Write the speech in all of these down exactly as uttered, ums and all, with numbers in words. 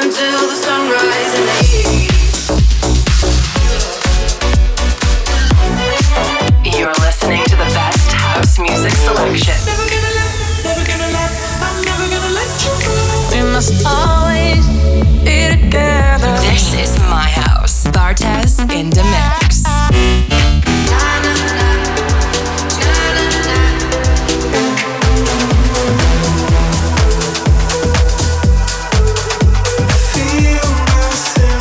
until the sunrise in the east. You're listening to the best house music selection. Never gonna let, never gonna let, I'm never gonna let you go. We must always be together. This is my house. Bartez in the mix. Feel myself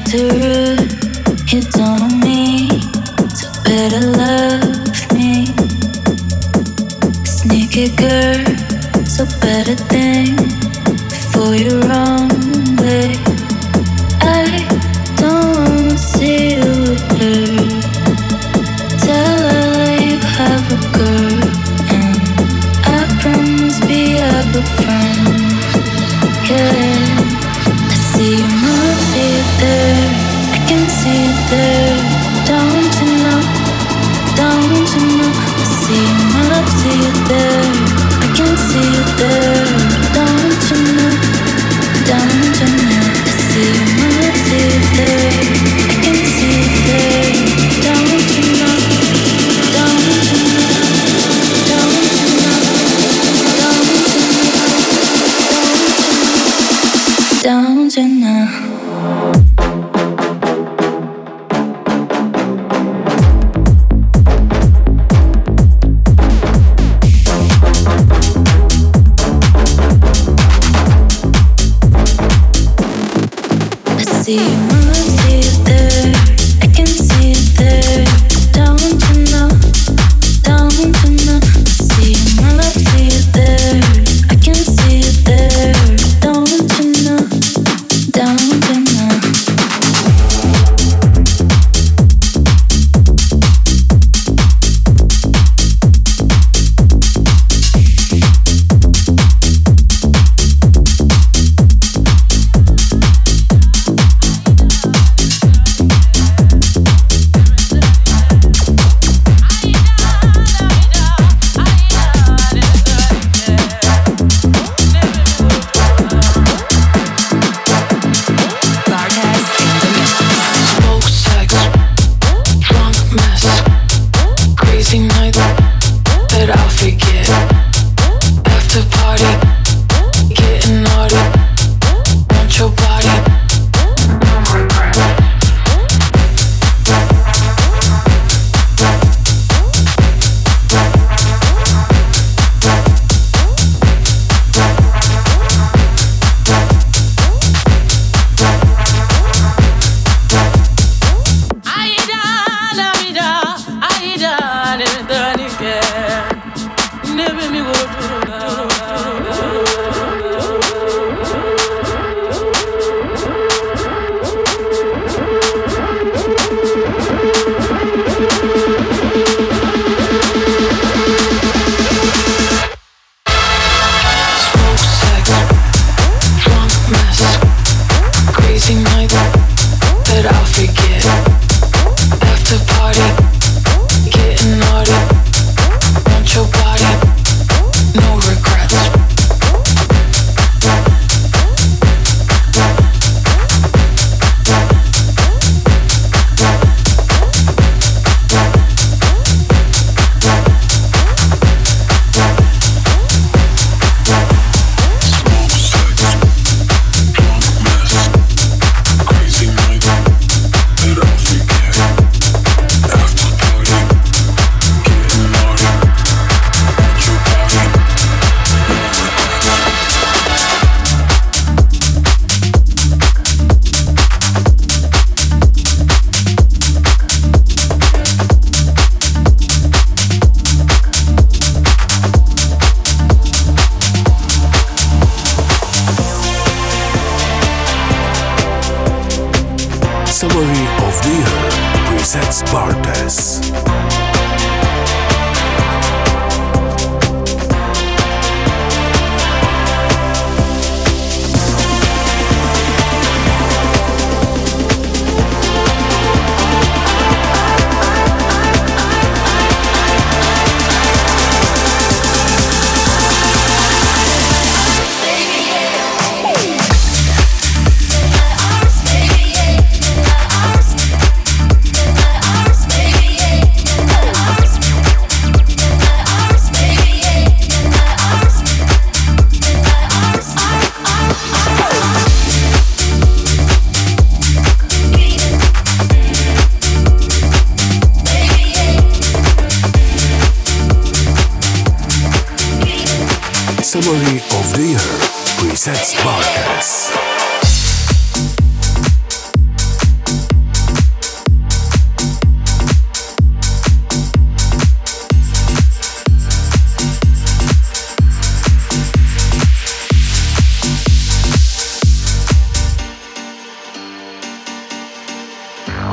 too rude. You don't know me, so better love me. Sneaky girl, so better think before you run away. I don't wanna see you with her. Tell her you have a girl, and I promise be a good friend. Yeah, I see you move, see you there. I can see you there. Don't you know? Don't you know? I see you move, see you there. I can see you there. Don't you know? Don't you know? I see you move, see you there. I can see you there. Don't you know? Don't you know? Don't you know? Don't you know? Don't you know? See you move, see you there. I can see you there. Don't you know? Don't you know? See you move, see you there. I can see you there. Don't you know? Don't you know? Summary of the Year presents Bartes. Summary of the Year presents Bartes.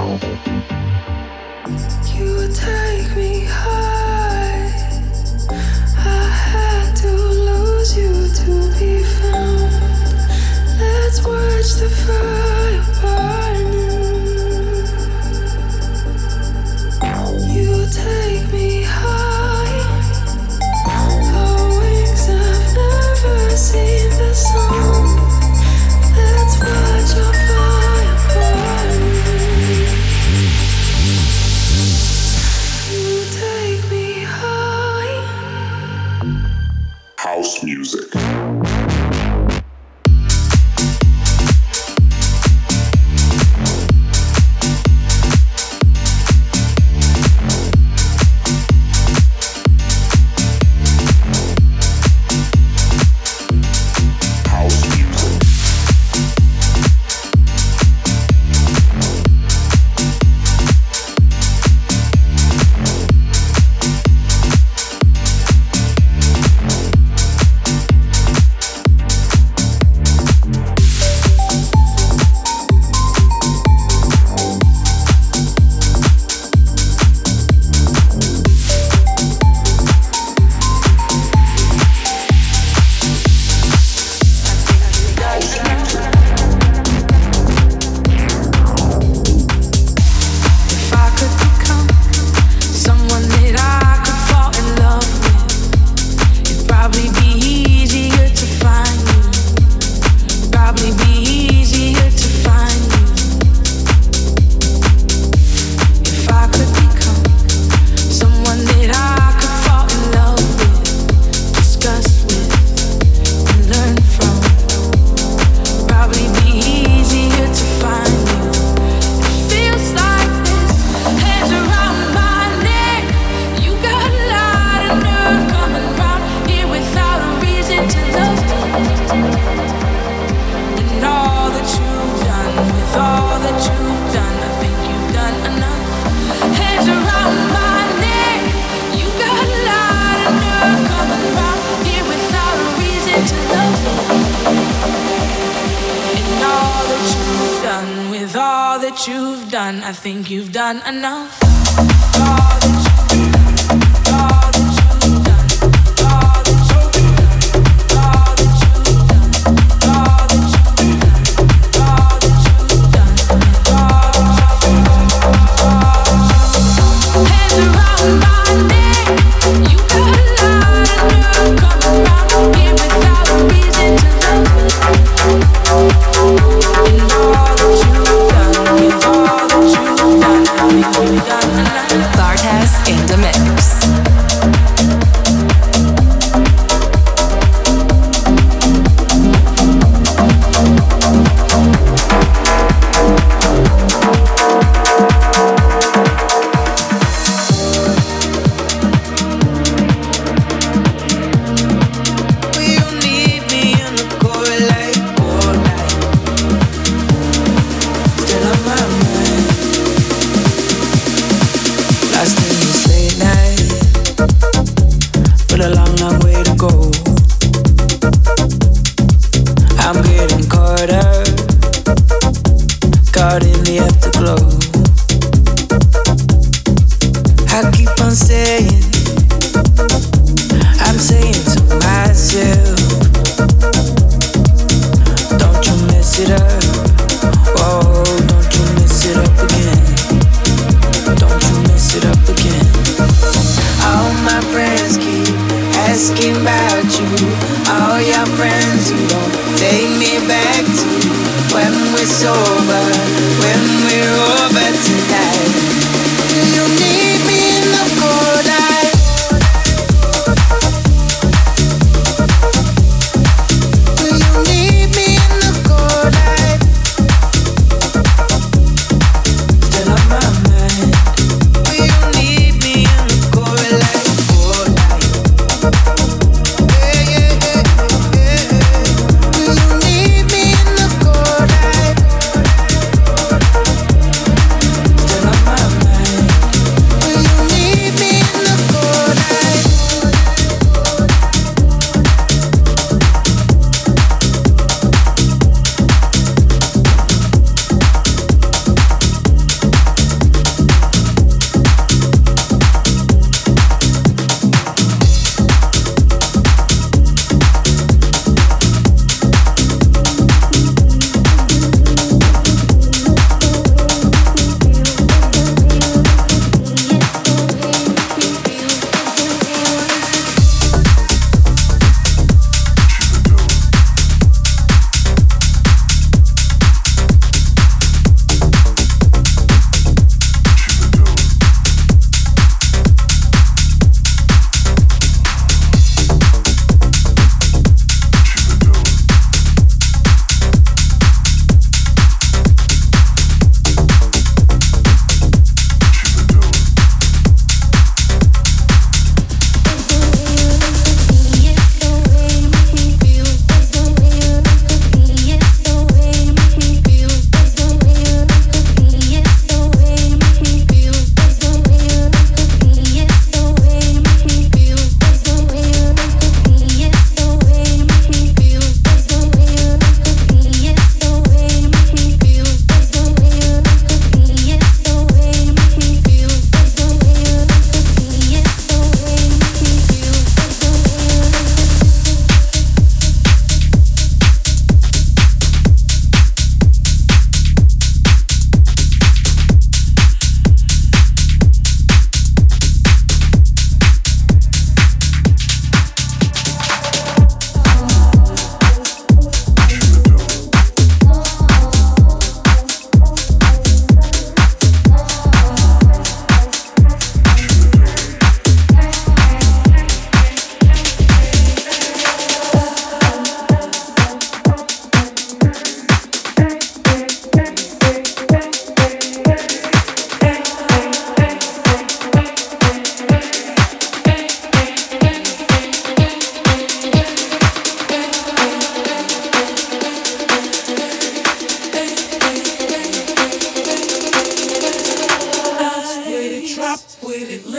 Will you need me in the cold light?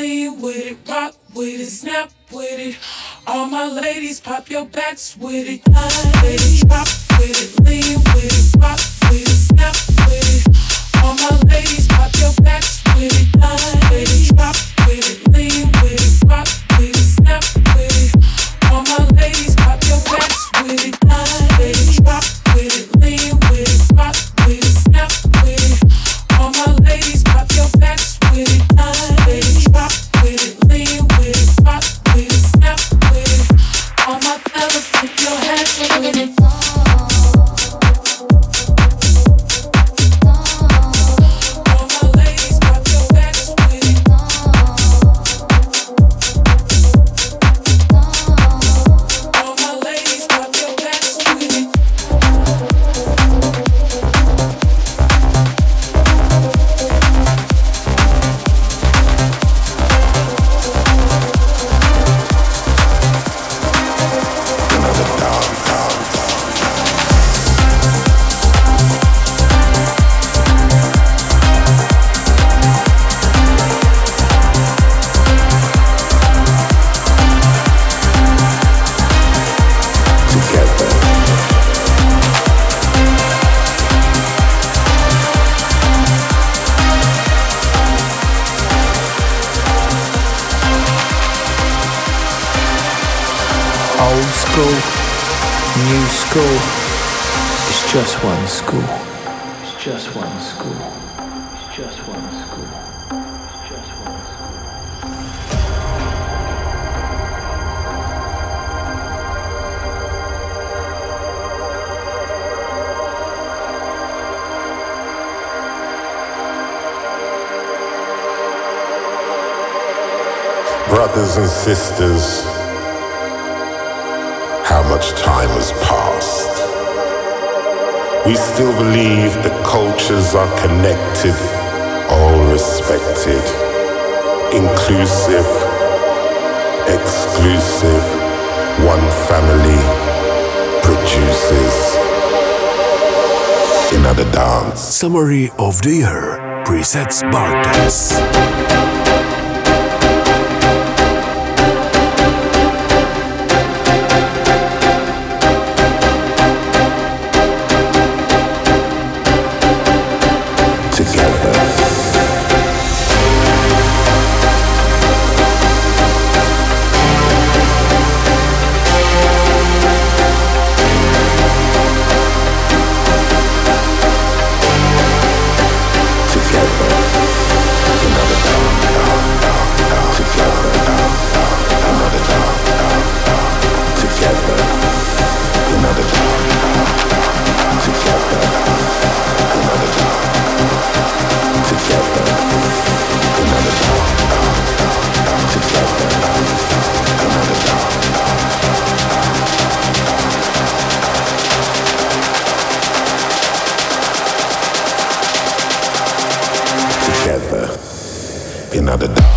lean with it, rock with it, snap with it. All my ladies, pop your backs with it, line with it, drop with it, lean with it, rock with it, snap with it. All my ladies, pop your backs with it, line with it, drop with it, lean with it, rock with it, snap with it. All my ladies, pop your backs with it, line with it, drop with it, lean with it, rock with it, snap with it. All my ladies, pop your backs with it, line with it, drop with it, lean with it, rock with it, snap with it. All my fellas, tip your hands with it. New school, it's just one school. It's just one school. It's just one school. It's just one school. Brothers and sisters, how much time has passed. We still believe that cultures are connected, all respected, inclusive, exclusive, one family produces another dance. Summary of the Year presents Bartes. Another dog.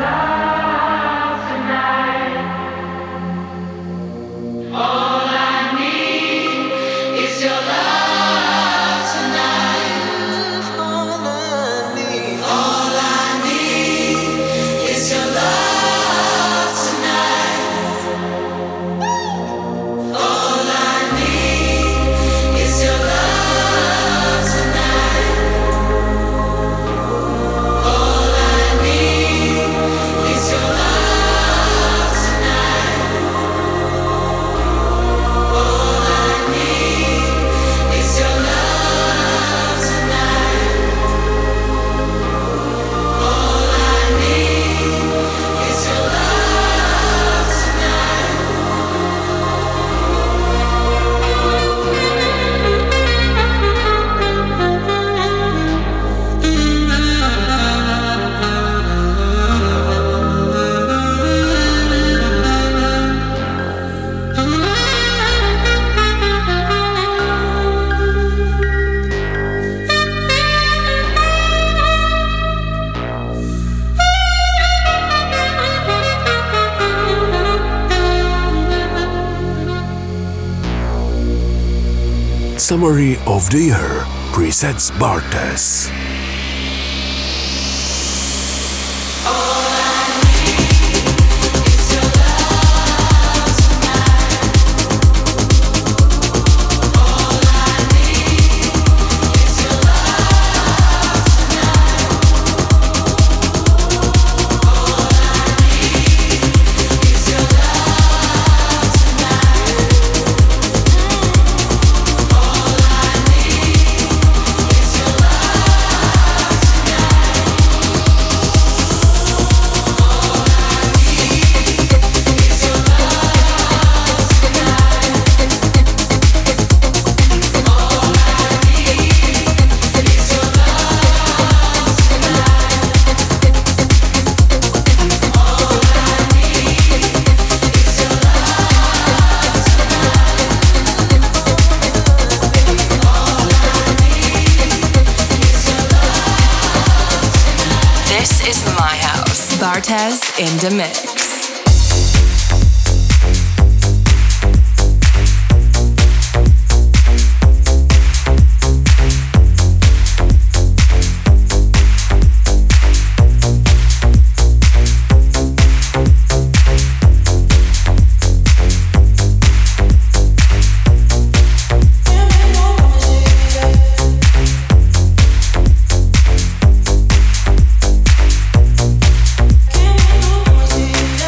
Summary of the Year presents Bartes. Bartes in the mix. See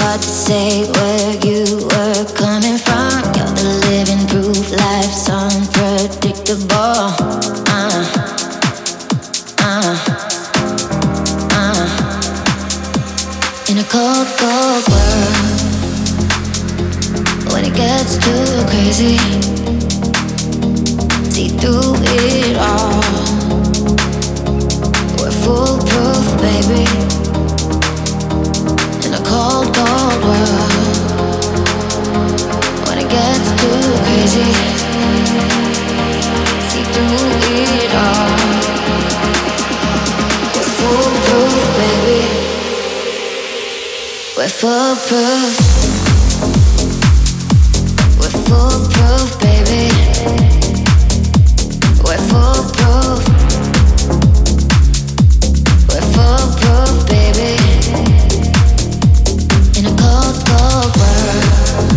hard to say where you were coming from. You're the living proof, life's unpredictable. Uh, uh, uh. In a cold, cold world, when it gets too crazy, see through it all. We're foolproof, baby. In a cold, cold world, when it gets too crazy, see through it all. We're foolproof, baby. We're foolproof. We're foolproof, baby. We're foolproof. We're foolproof, baby. In a cold, cold world,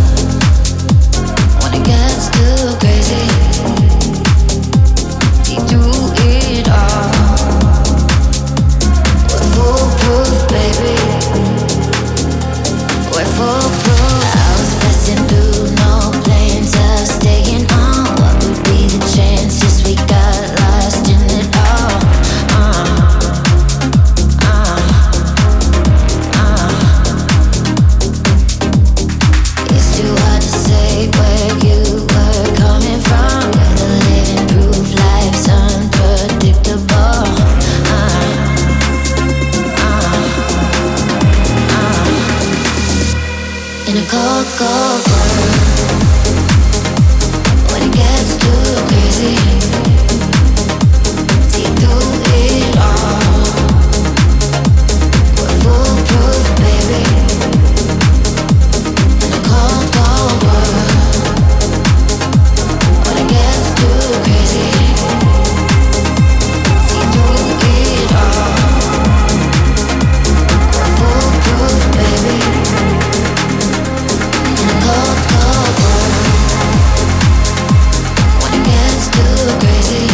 when it gets too crazy, see through it all. We're foolproof, baby. We're foolproof. I was passing through, no plans of staying on. What would be the chances we got lost in it all? Uh, uh, uh. It's too hard to say where you were coming from. You're the living proof, life's unpredictable. Uh, uh, uh. In a cold, cold world, when it gets too crazy, see through it all. We're foolproof, baby. In a cold, cold world, when it gets too crazy, see through it all. We're foolproof, baby. In a cold, cold world, when it gets too crazy,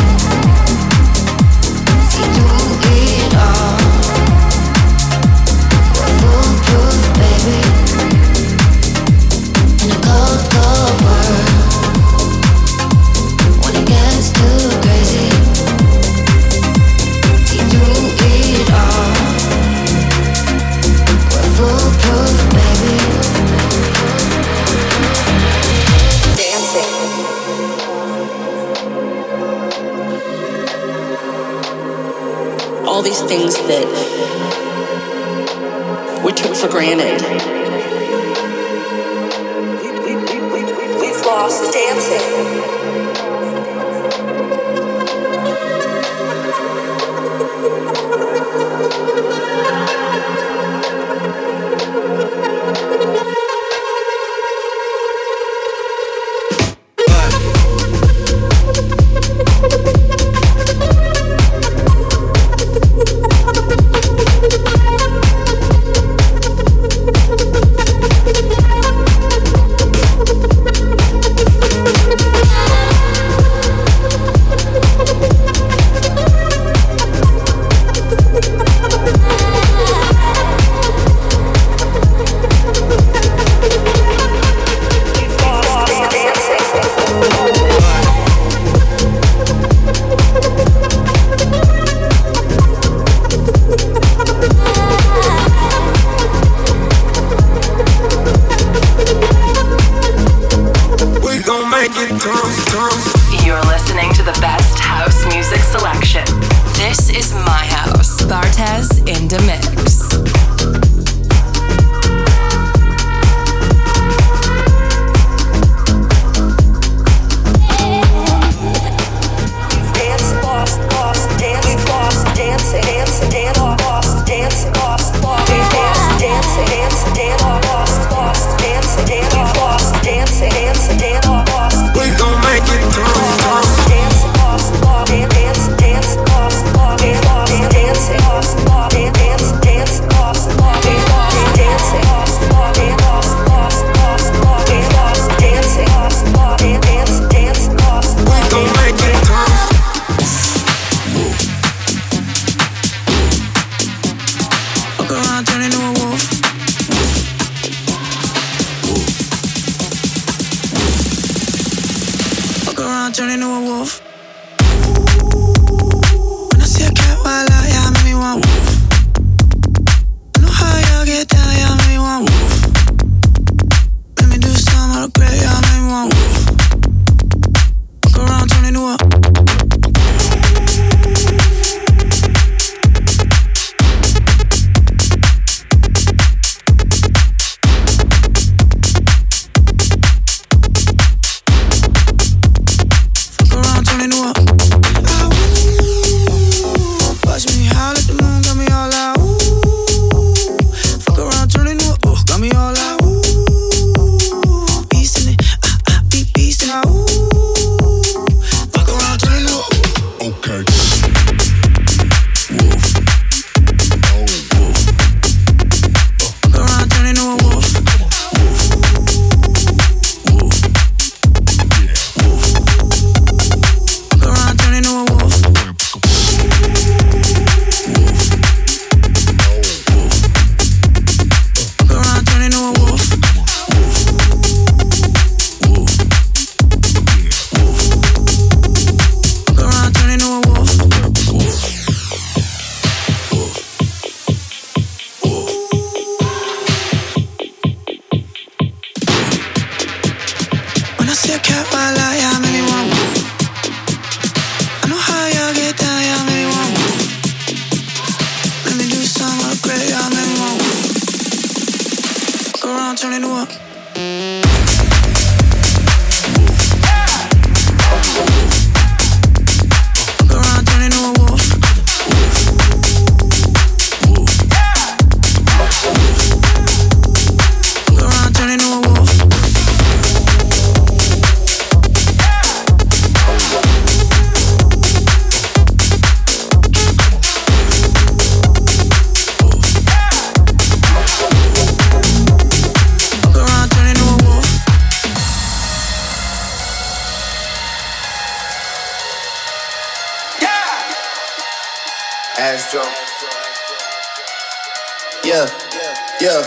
see through it all. We're foolproof, baby. In a cold, cold world, when it gets too crazy, see through it all. We're foolproof, baby. Dancing. All these things that we took for granted. We, we, we, we, we've lost dancing. We'll be right back. Astro. Yeah, yeah.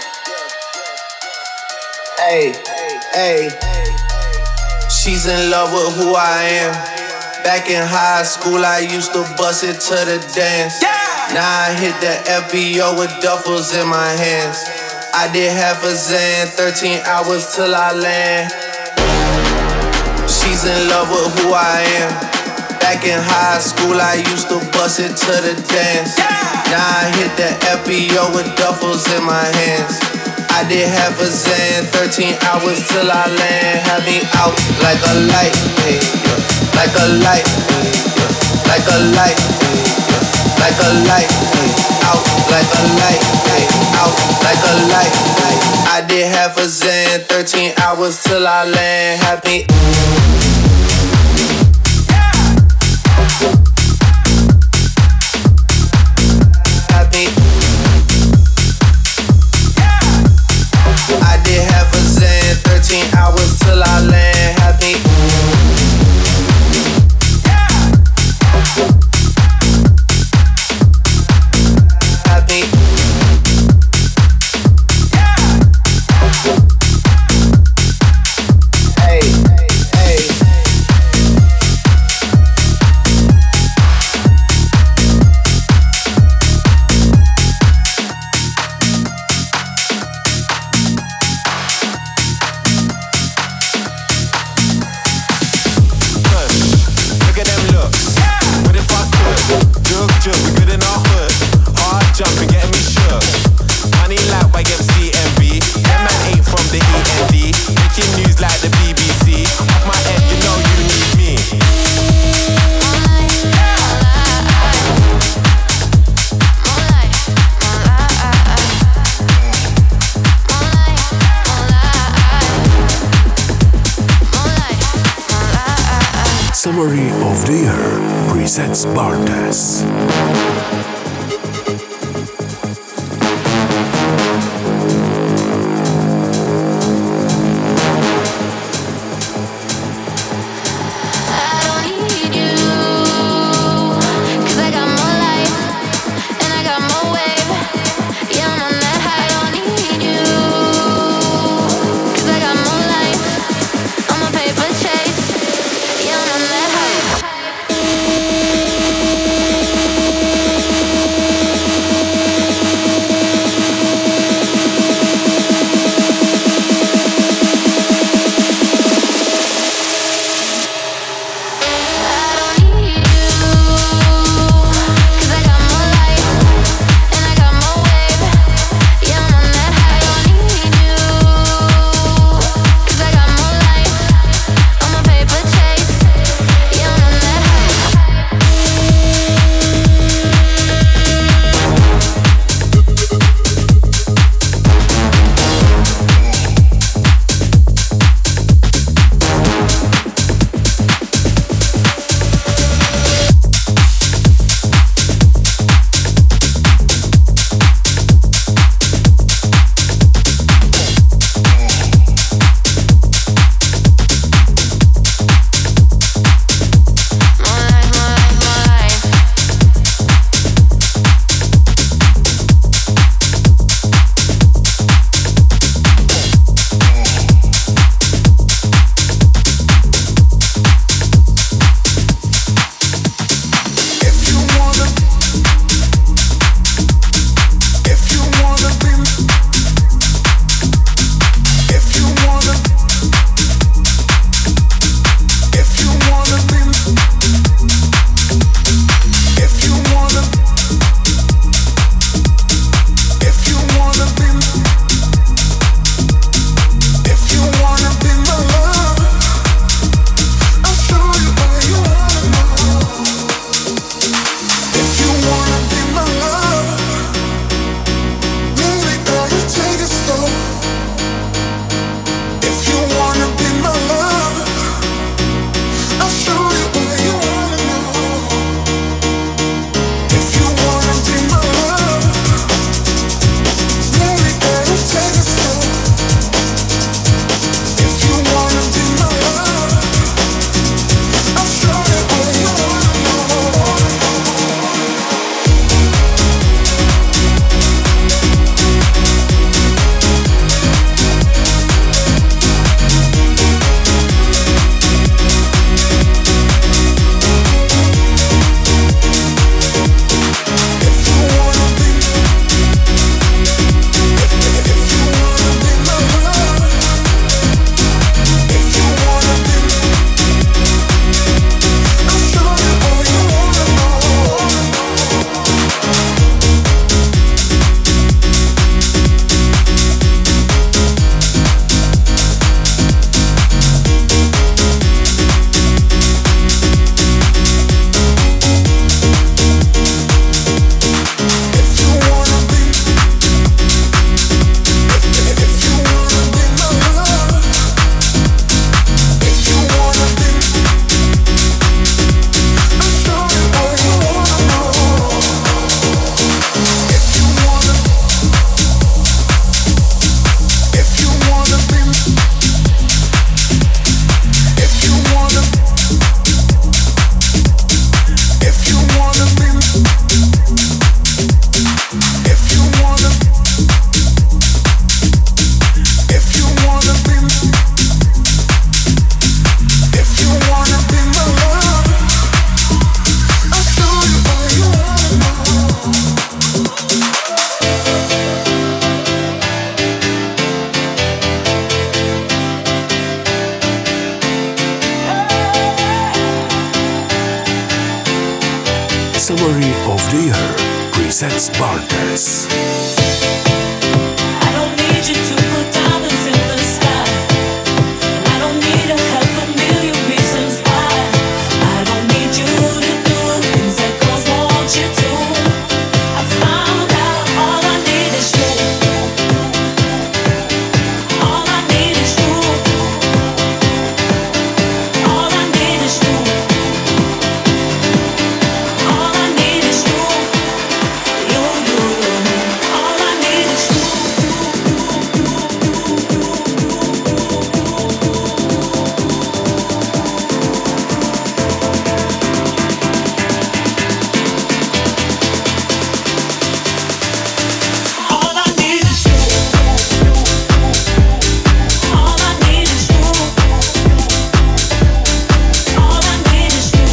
Hey, hey. She's in love with who I am. Back in high school, I used to bust it to the dance. Now I hit the F B O with duffels in my hands. I did half a Zan, thirteen hours till I land. She's in love with who I am. Back in high school, I used to bust it to the dance. Now I hit the F B O with duffels in my hands. I did half a Zan, thirteen hours till I land. Had me out like a light, hey, yeah. Like a light, hey, yeah. Like a light, hey, yeah. Like a light, hey. Out like a light, hey. Out like a light, hey. I did half a Zan, thirteen hours till I land. Had me thirteen hours till I land, had me. Had me. Hey, hey. We good in our hood, hard jumping, getting me shook. Money like Y M C M B. That man ain't from the E N D. Making news like the B B C. Off my head, you know you need me. Summary of the Year presents Bartes. Chase. Yeah, I'm on that high. Summary of the Year presents Bartes. I don't need you to put diamonds in the sky, and I don't need to have a million reasons why. I don't need you to do things that girls want you to. I found out all I need is you. All I need is you. All I need is you. All I need is you. You, you, you. All I need is you. All I need is you. All I need is you. All I need is you.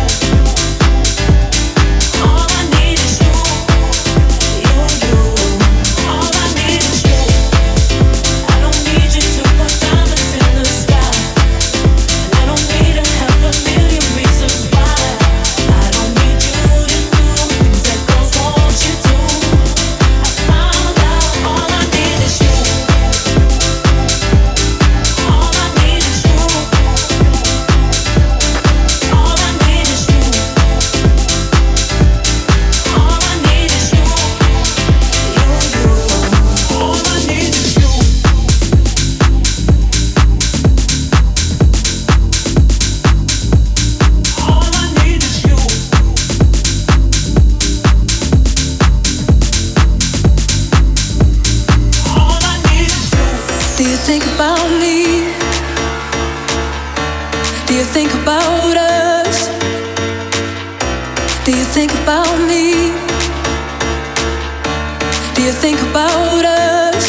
All I need is you. You, you. All I need is you. I don't need you to put diamonds in the sky, and I don't need to have a million reasons why. I don't need you to do things that girls want you to. I found out all I need is you. All I need is you. All I need is you. All I need is you. You, you. All I need is you. All I need is you. All I need is you. Do you think about me? Do you think about us? Do you think about me? Do you think about us?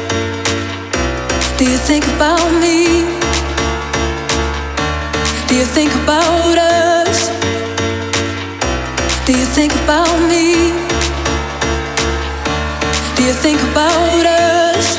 Do you think about me? Do you think about us? Do you think about me? Do you think about us?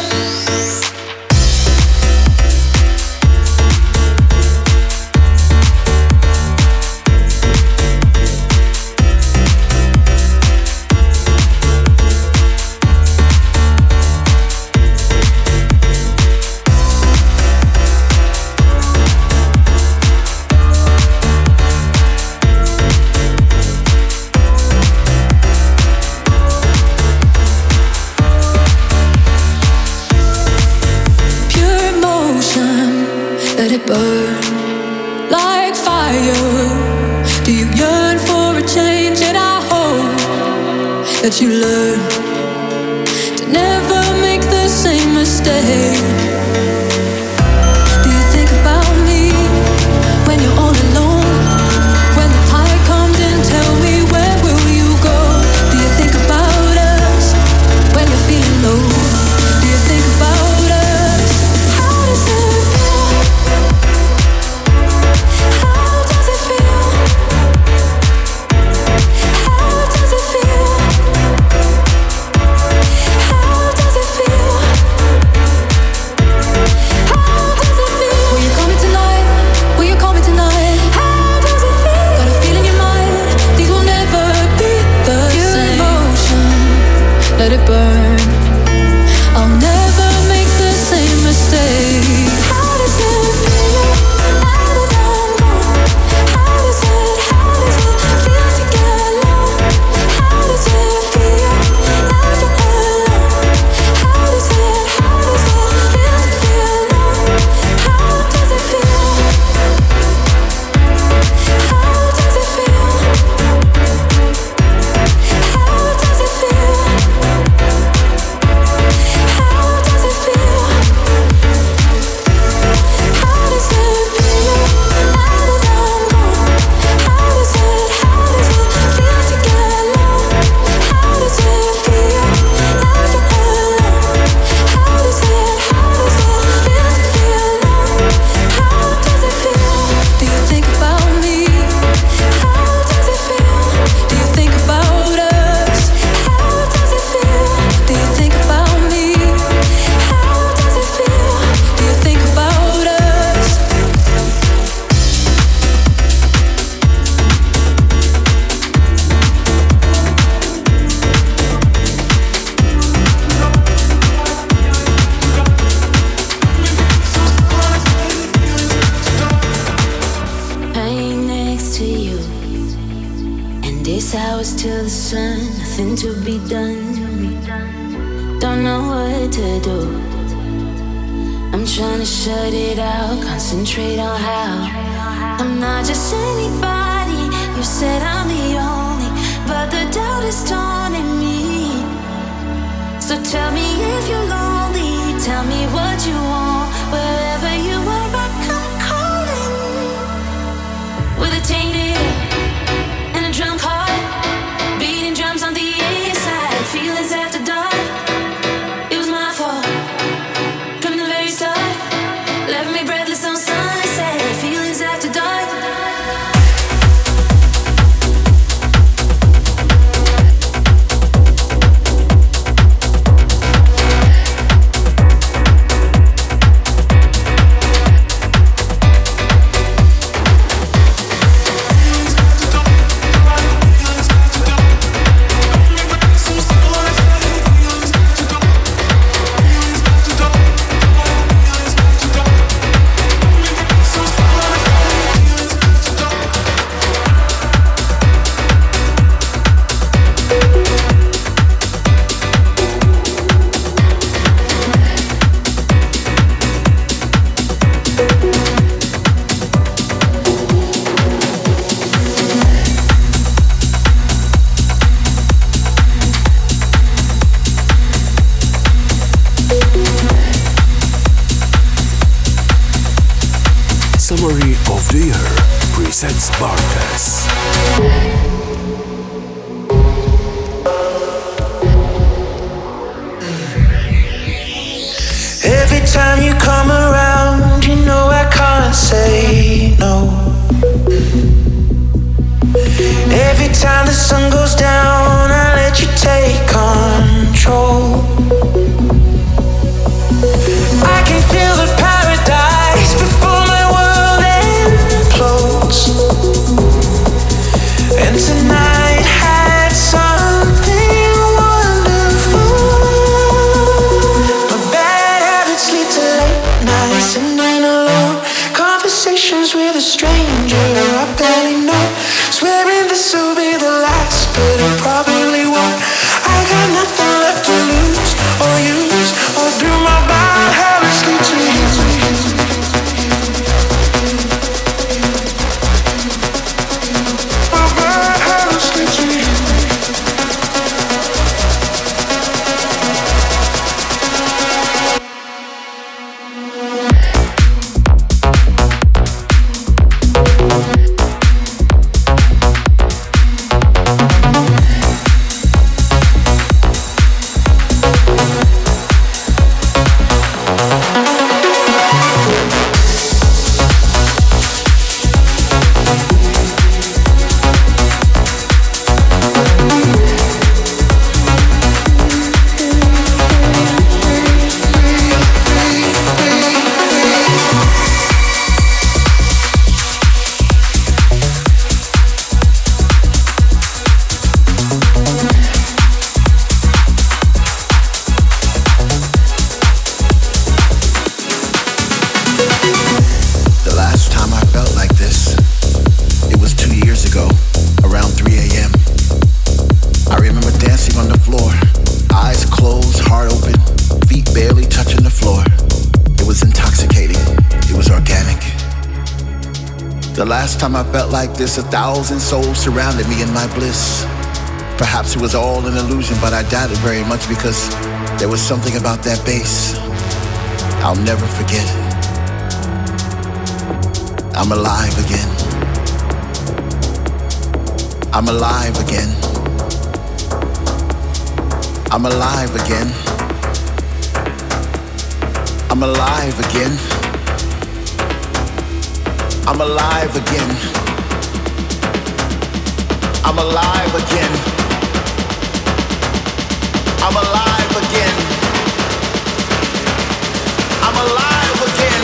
Pure emotion, let it burn like fire. Do you yearn for a change? And I hope that you learn to never make the same mistake. Do you think about me when you're all alone? When the tide comes in, tell me, where will you go? Do you think about us when you're feeling low? Do you think about us? How does it feel? How does it feel? How does it feel? How does it feel? How does it feel? Will you call me tonight? Will you call me tonight? How does it feel? Got a feel in your mind, these will never be the same. Emotion, let it burn. I'll never make the same mistake. How does it feel now that I'm gone? How does it, how does it feel to get alone? How does it feel now you're alone? How does it, how does it feel to feel alone? How does it feel? How does it feel? How does it feel? Days hours till the sun, nothing to be done. Don't know what to do. I'm trying to shut it out, concentrate on how I'm not just anybody. You said I'm the only, but the doubt is taunting me. So tell me if you're lonely, tell me what you want. Wherever you are, I come calling. With a tainted and a drunk heart, beating drums on the inside, feelings after dark. It was my fault from the very start. Left me breathless on sunset, feelings after dark. Summary of the Year presents Bartes. Every time you come around, you know I can't say no. Every time the sun goes down, I let you take control. I can feel the paradise before my world implodes. And tonight had something wonderful. My bad habits lead to late nights and night alone. Conversations with a stranger I barely know. Swearing this will be the last, but it probably won't. I got nothing left to lose or use, or do my bad habits lead to you? My bad habits lead to you. Last time I felt like this, a thousand souls surrounded me in my bliss. Perhaps it was all an illusion, but I doubt it very much because there was something about that bass I'll never forget. I'm alive again. I'm alive again. I'm alive again. I'm alive again. I'm alive again. I'm alive again. I'm alive again. I'm alive again.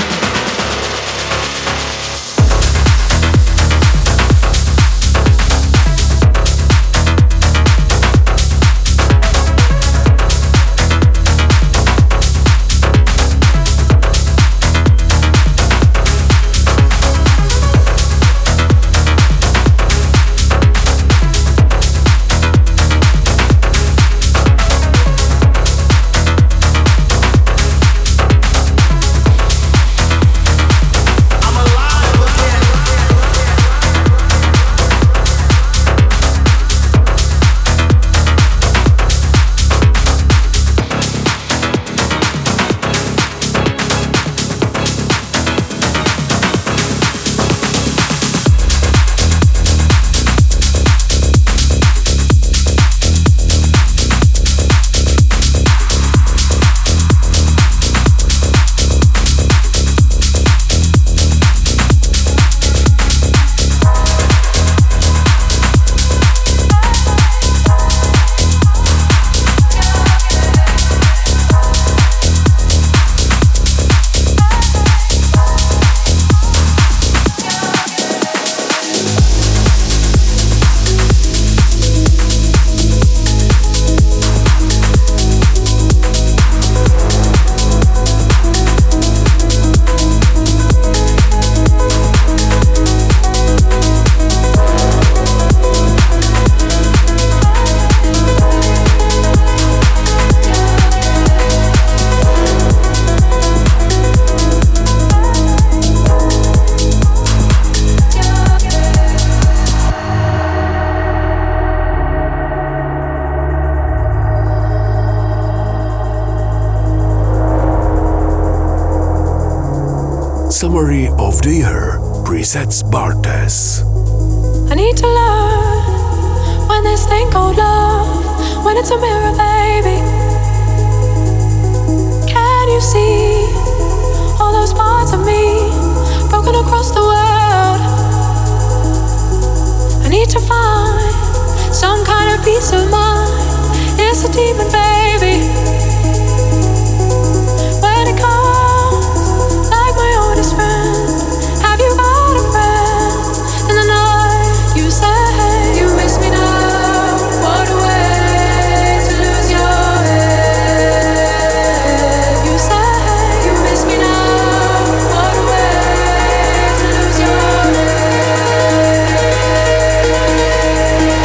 Summary of the Year presents Bartes. I need to learn when this thing called love, when it's a mirror, baby. Can you see all those parts of me broken across the world? I need to find some kind of peace of mind. It's a demon, baby. When it comes like my oldest friend, have you got a friend? In the night you say you miss me now. What a way to lose your head. You say you miss me now. What a way to lose your head.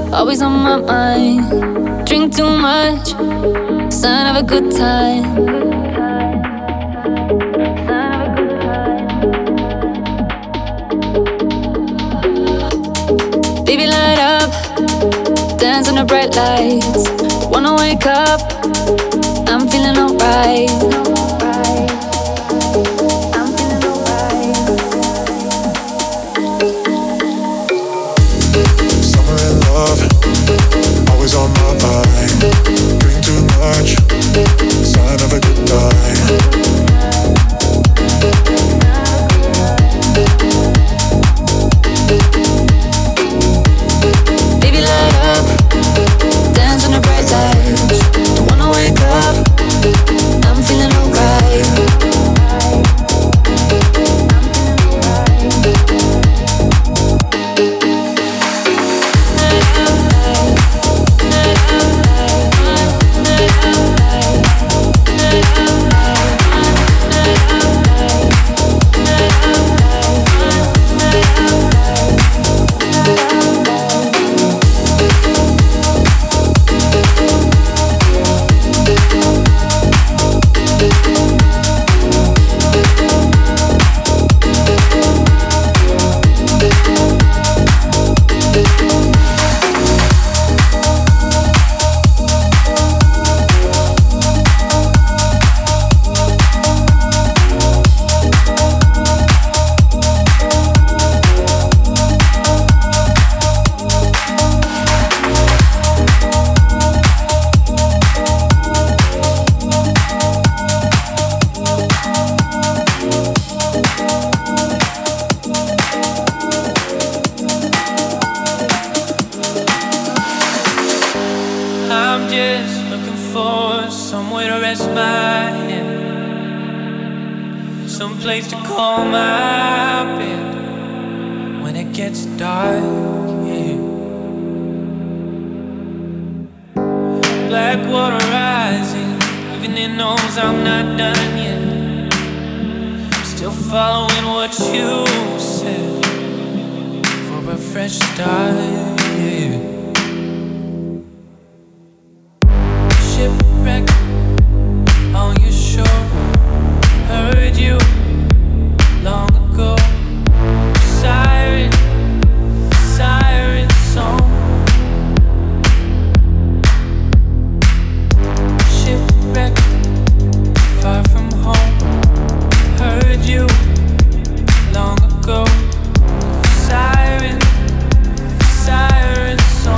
always on my mind. Drink too much, sign of a good time. Baby, light up, dance on the bright lights. Wanna wake up, I'm feeling alright. Always on my mind. Drink too much, sign of a good time. Baby, light up, dance on the bright lights. Don't wanna wake up, I'm feeling alright. Siren, siren song.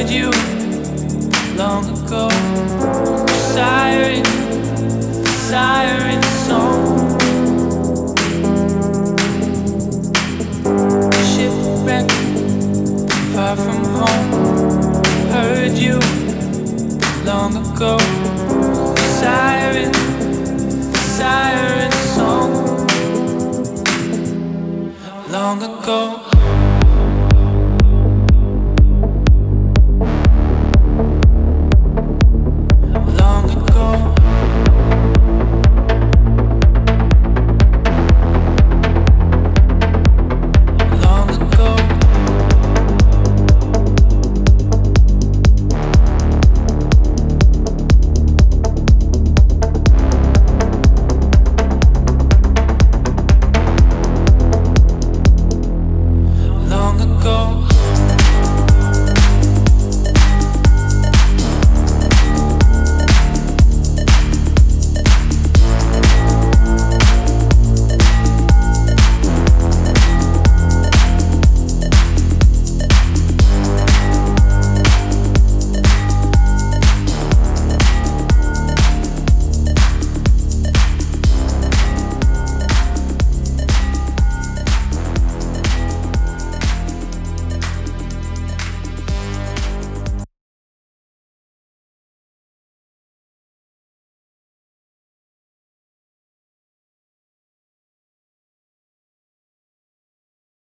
heard you long ago. Siren, siren song. Shipwreck, far from home. Heard you long ago. Siren, siren song. Long ago.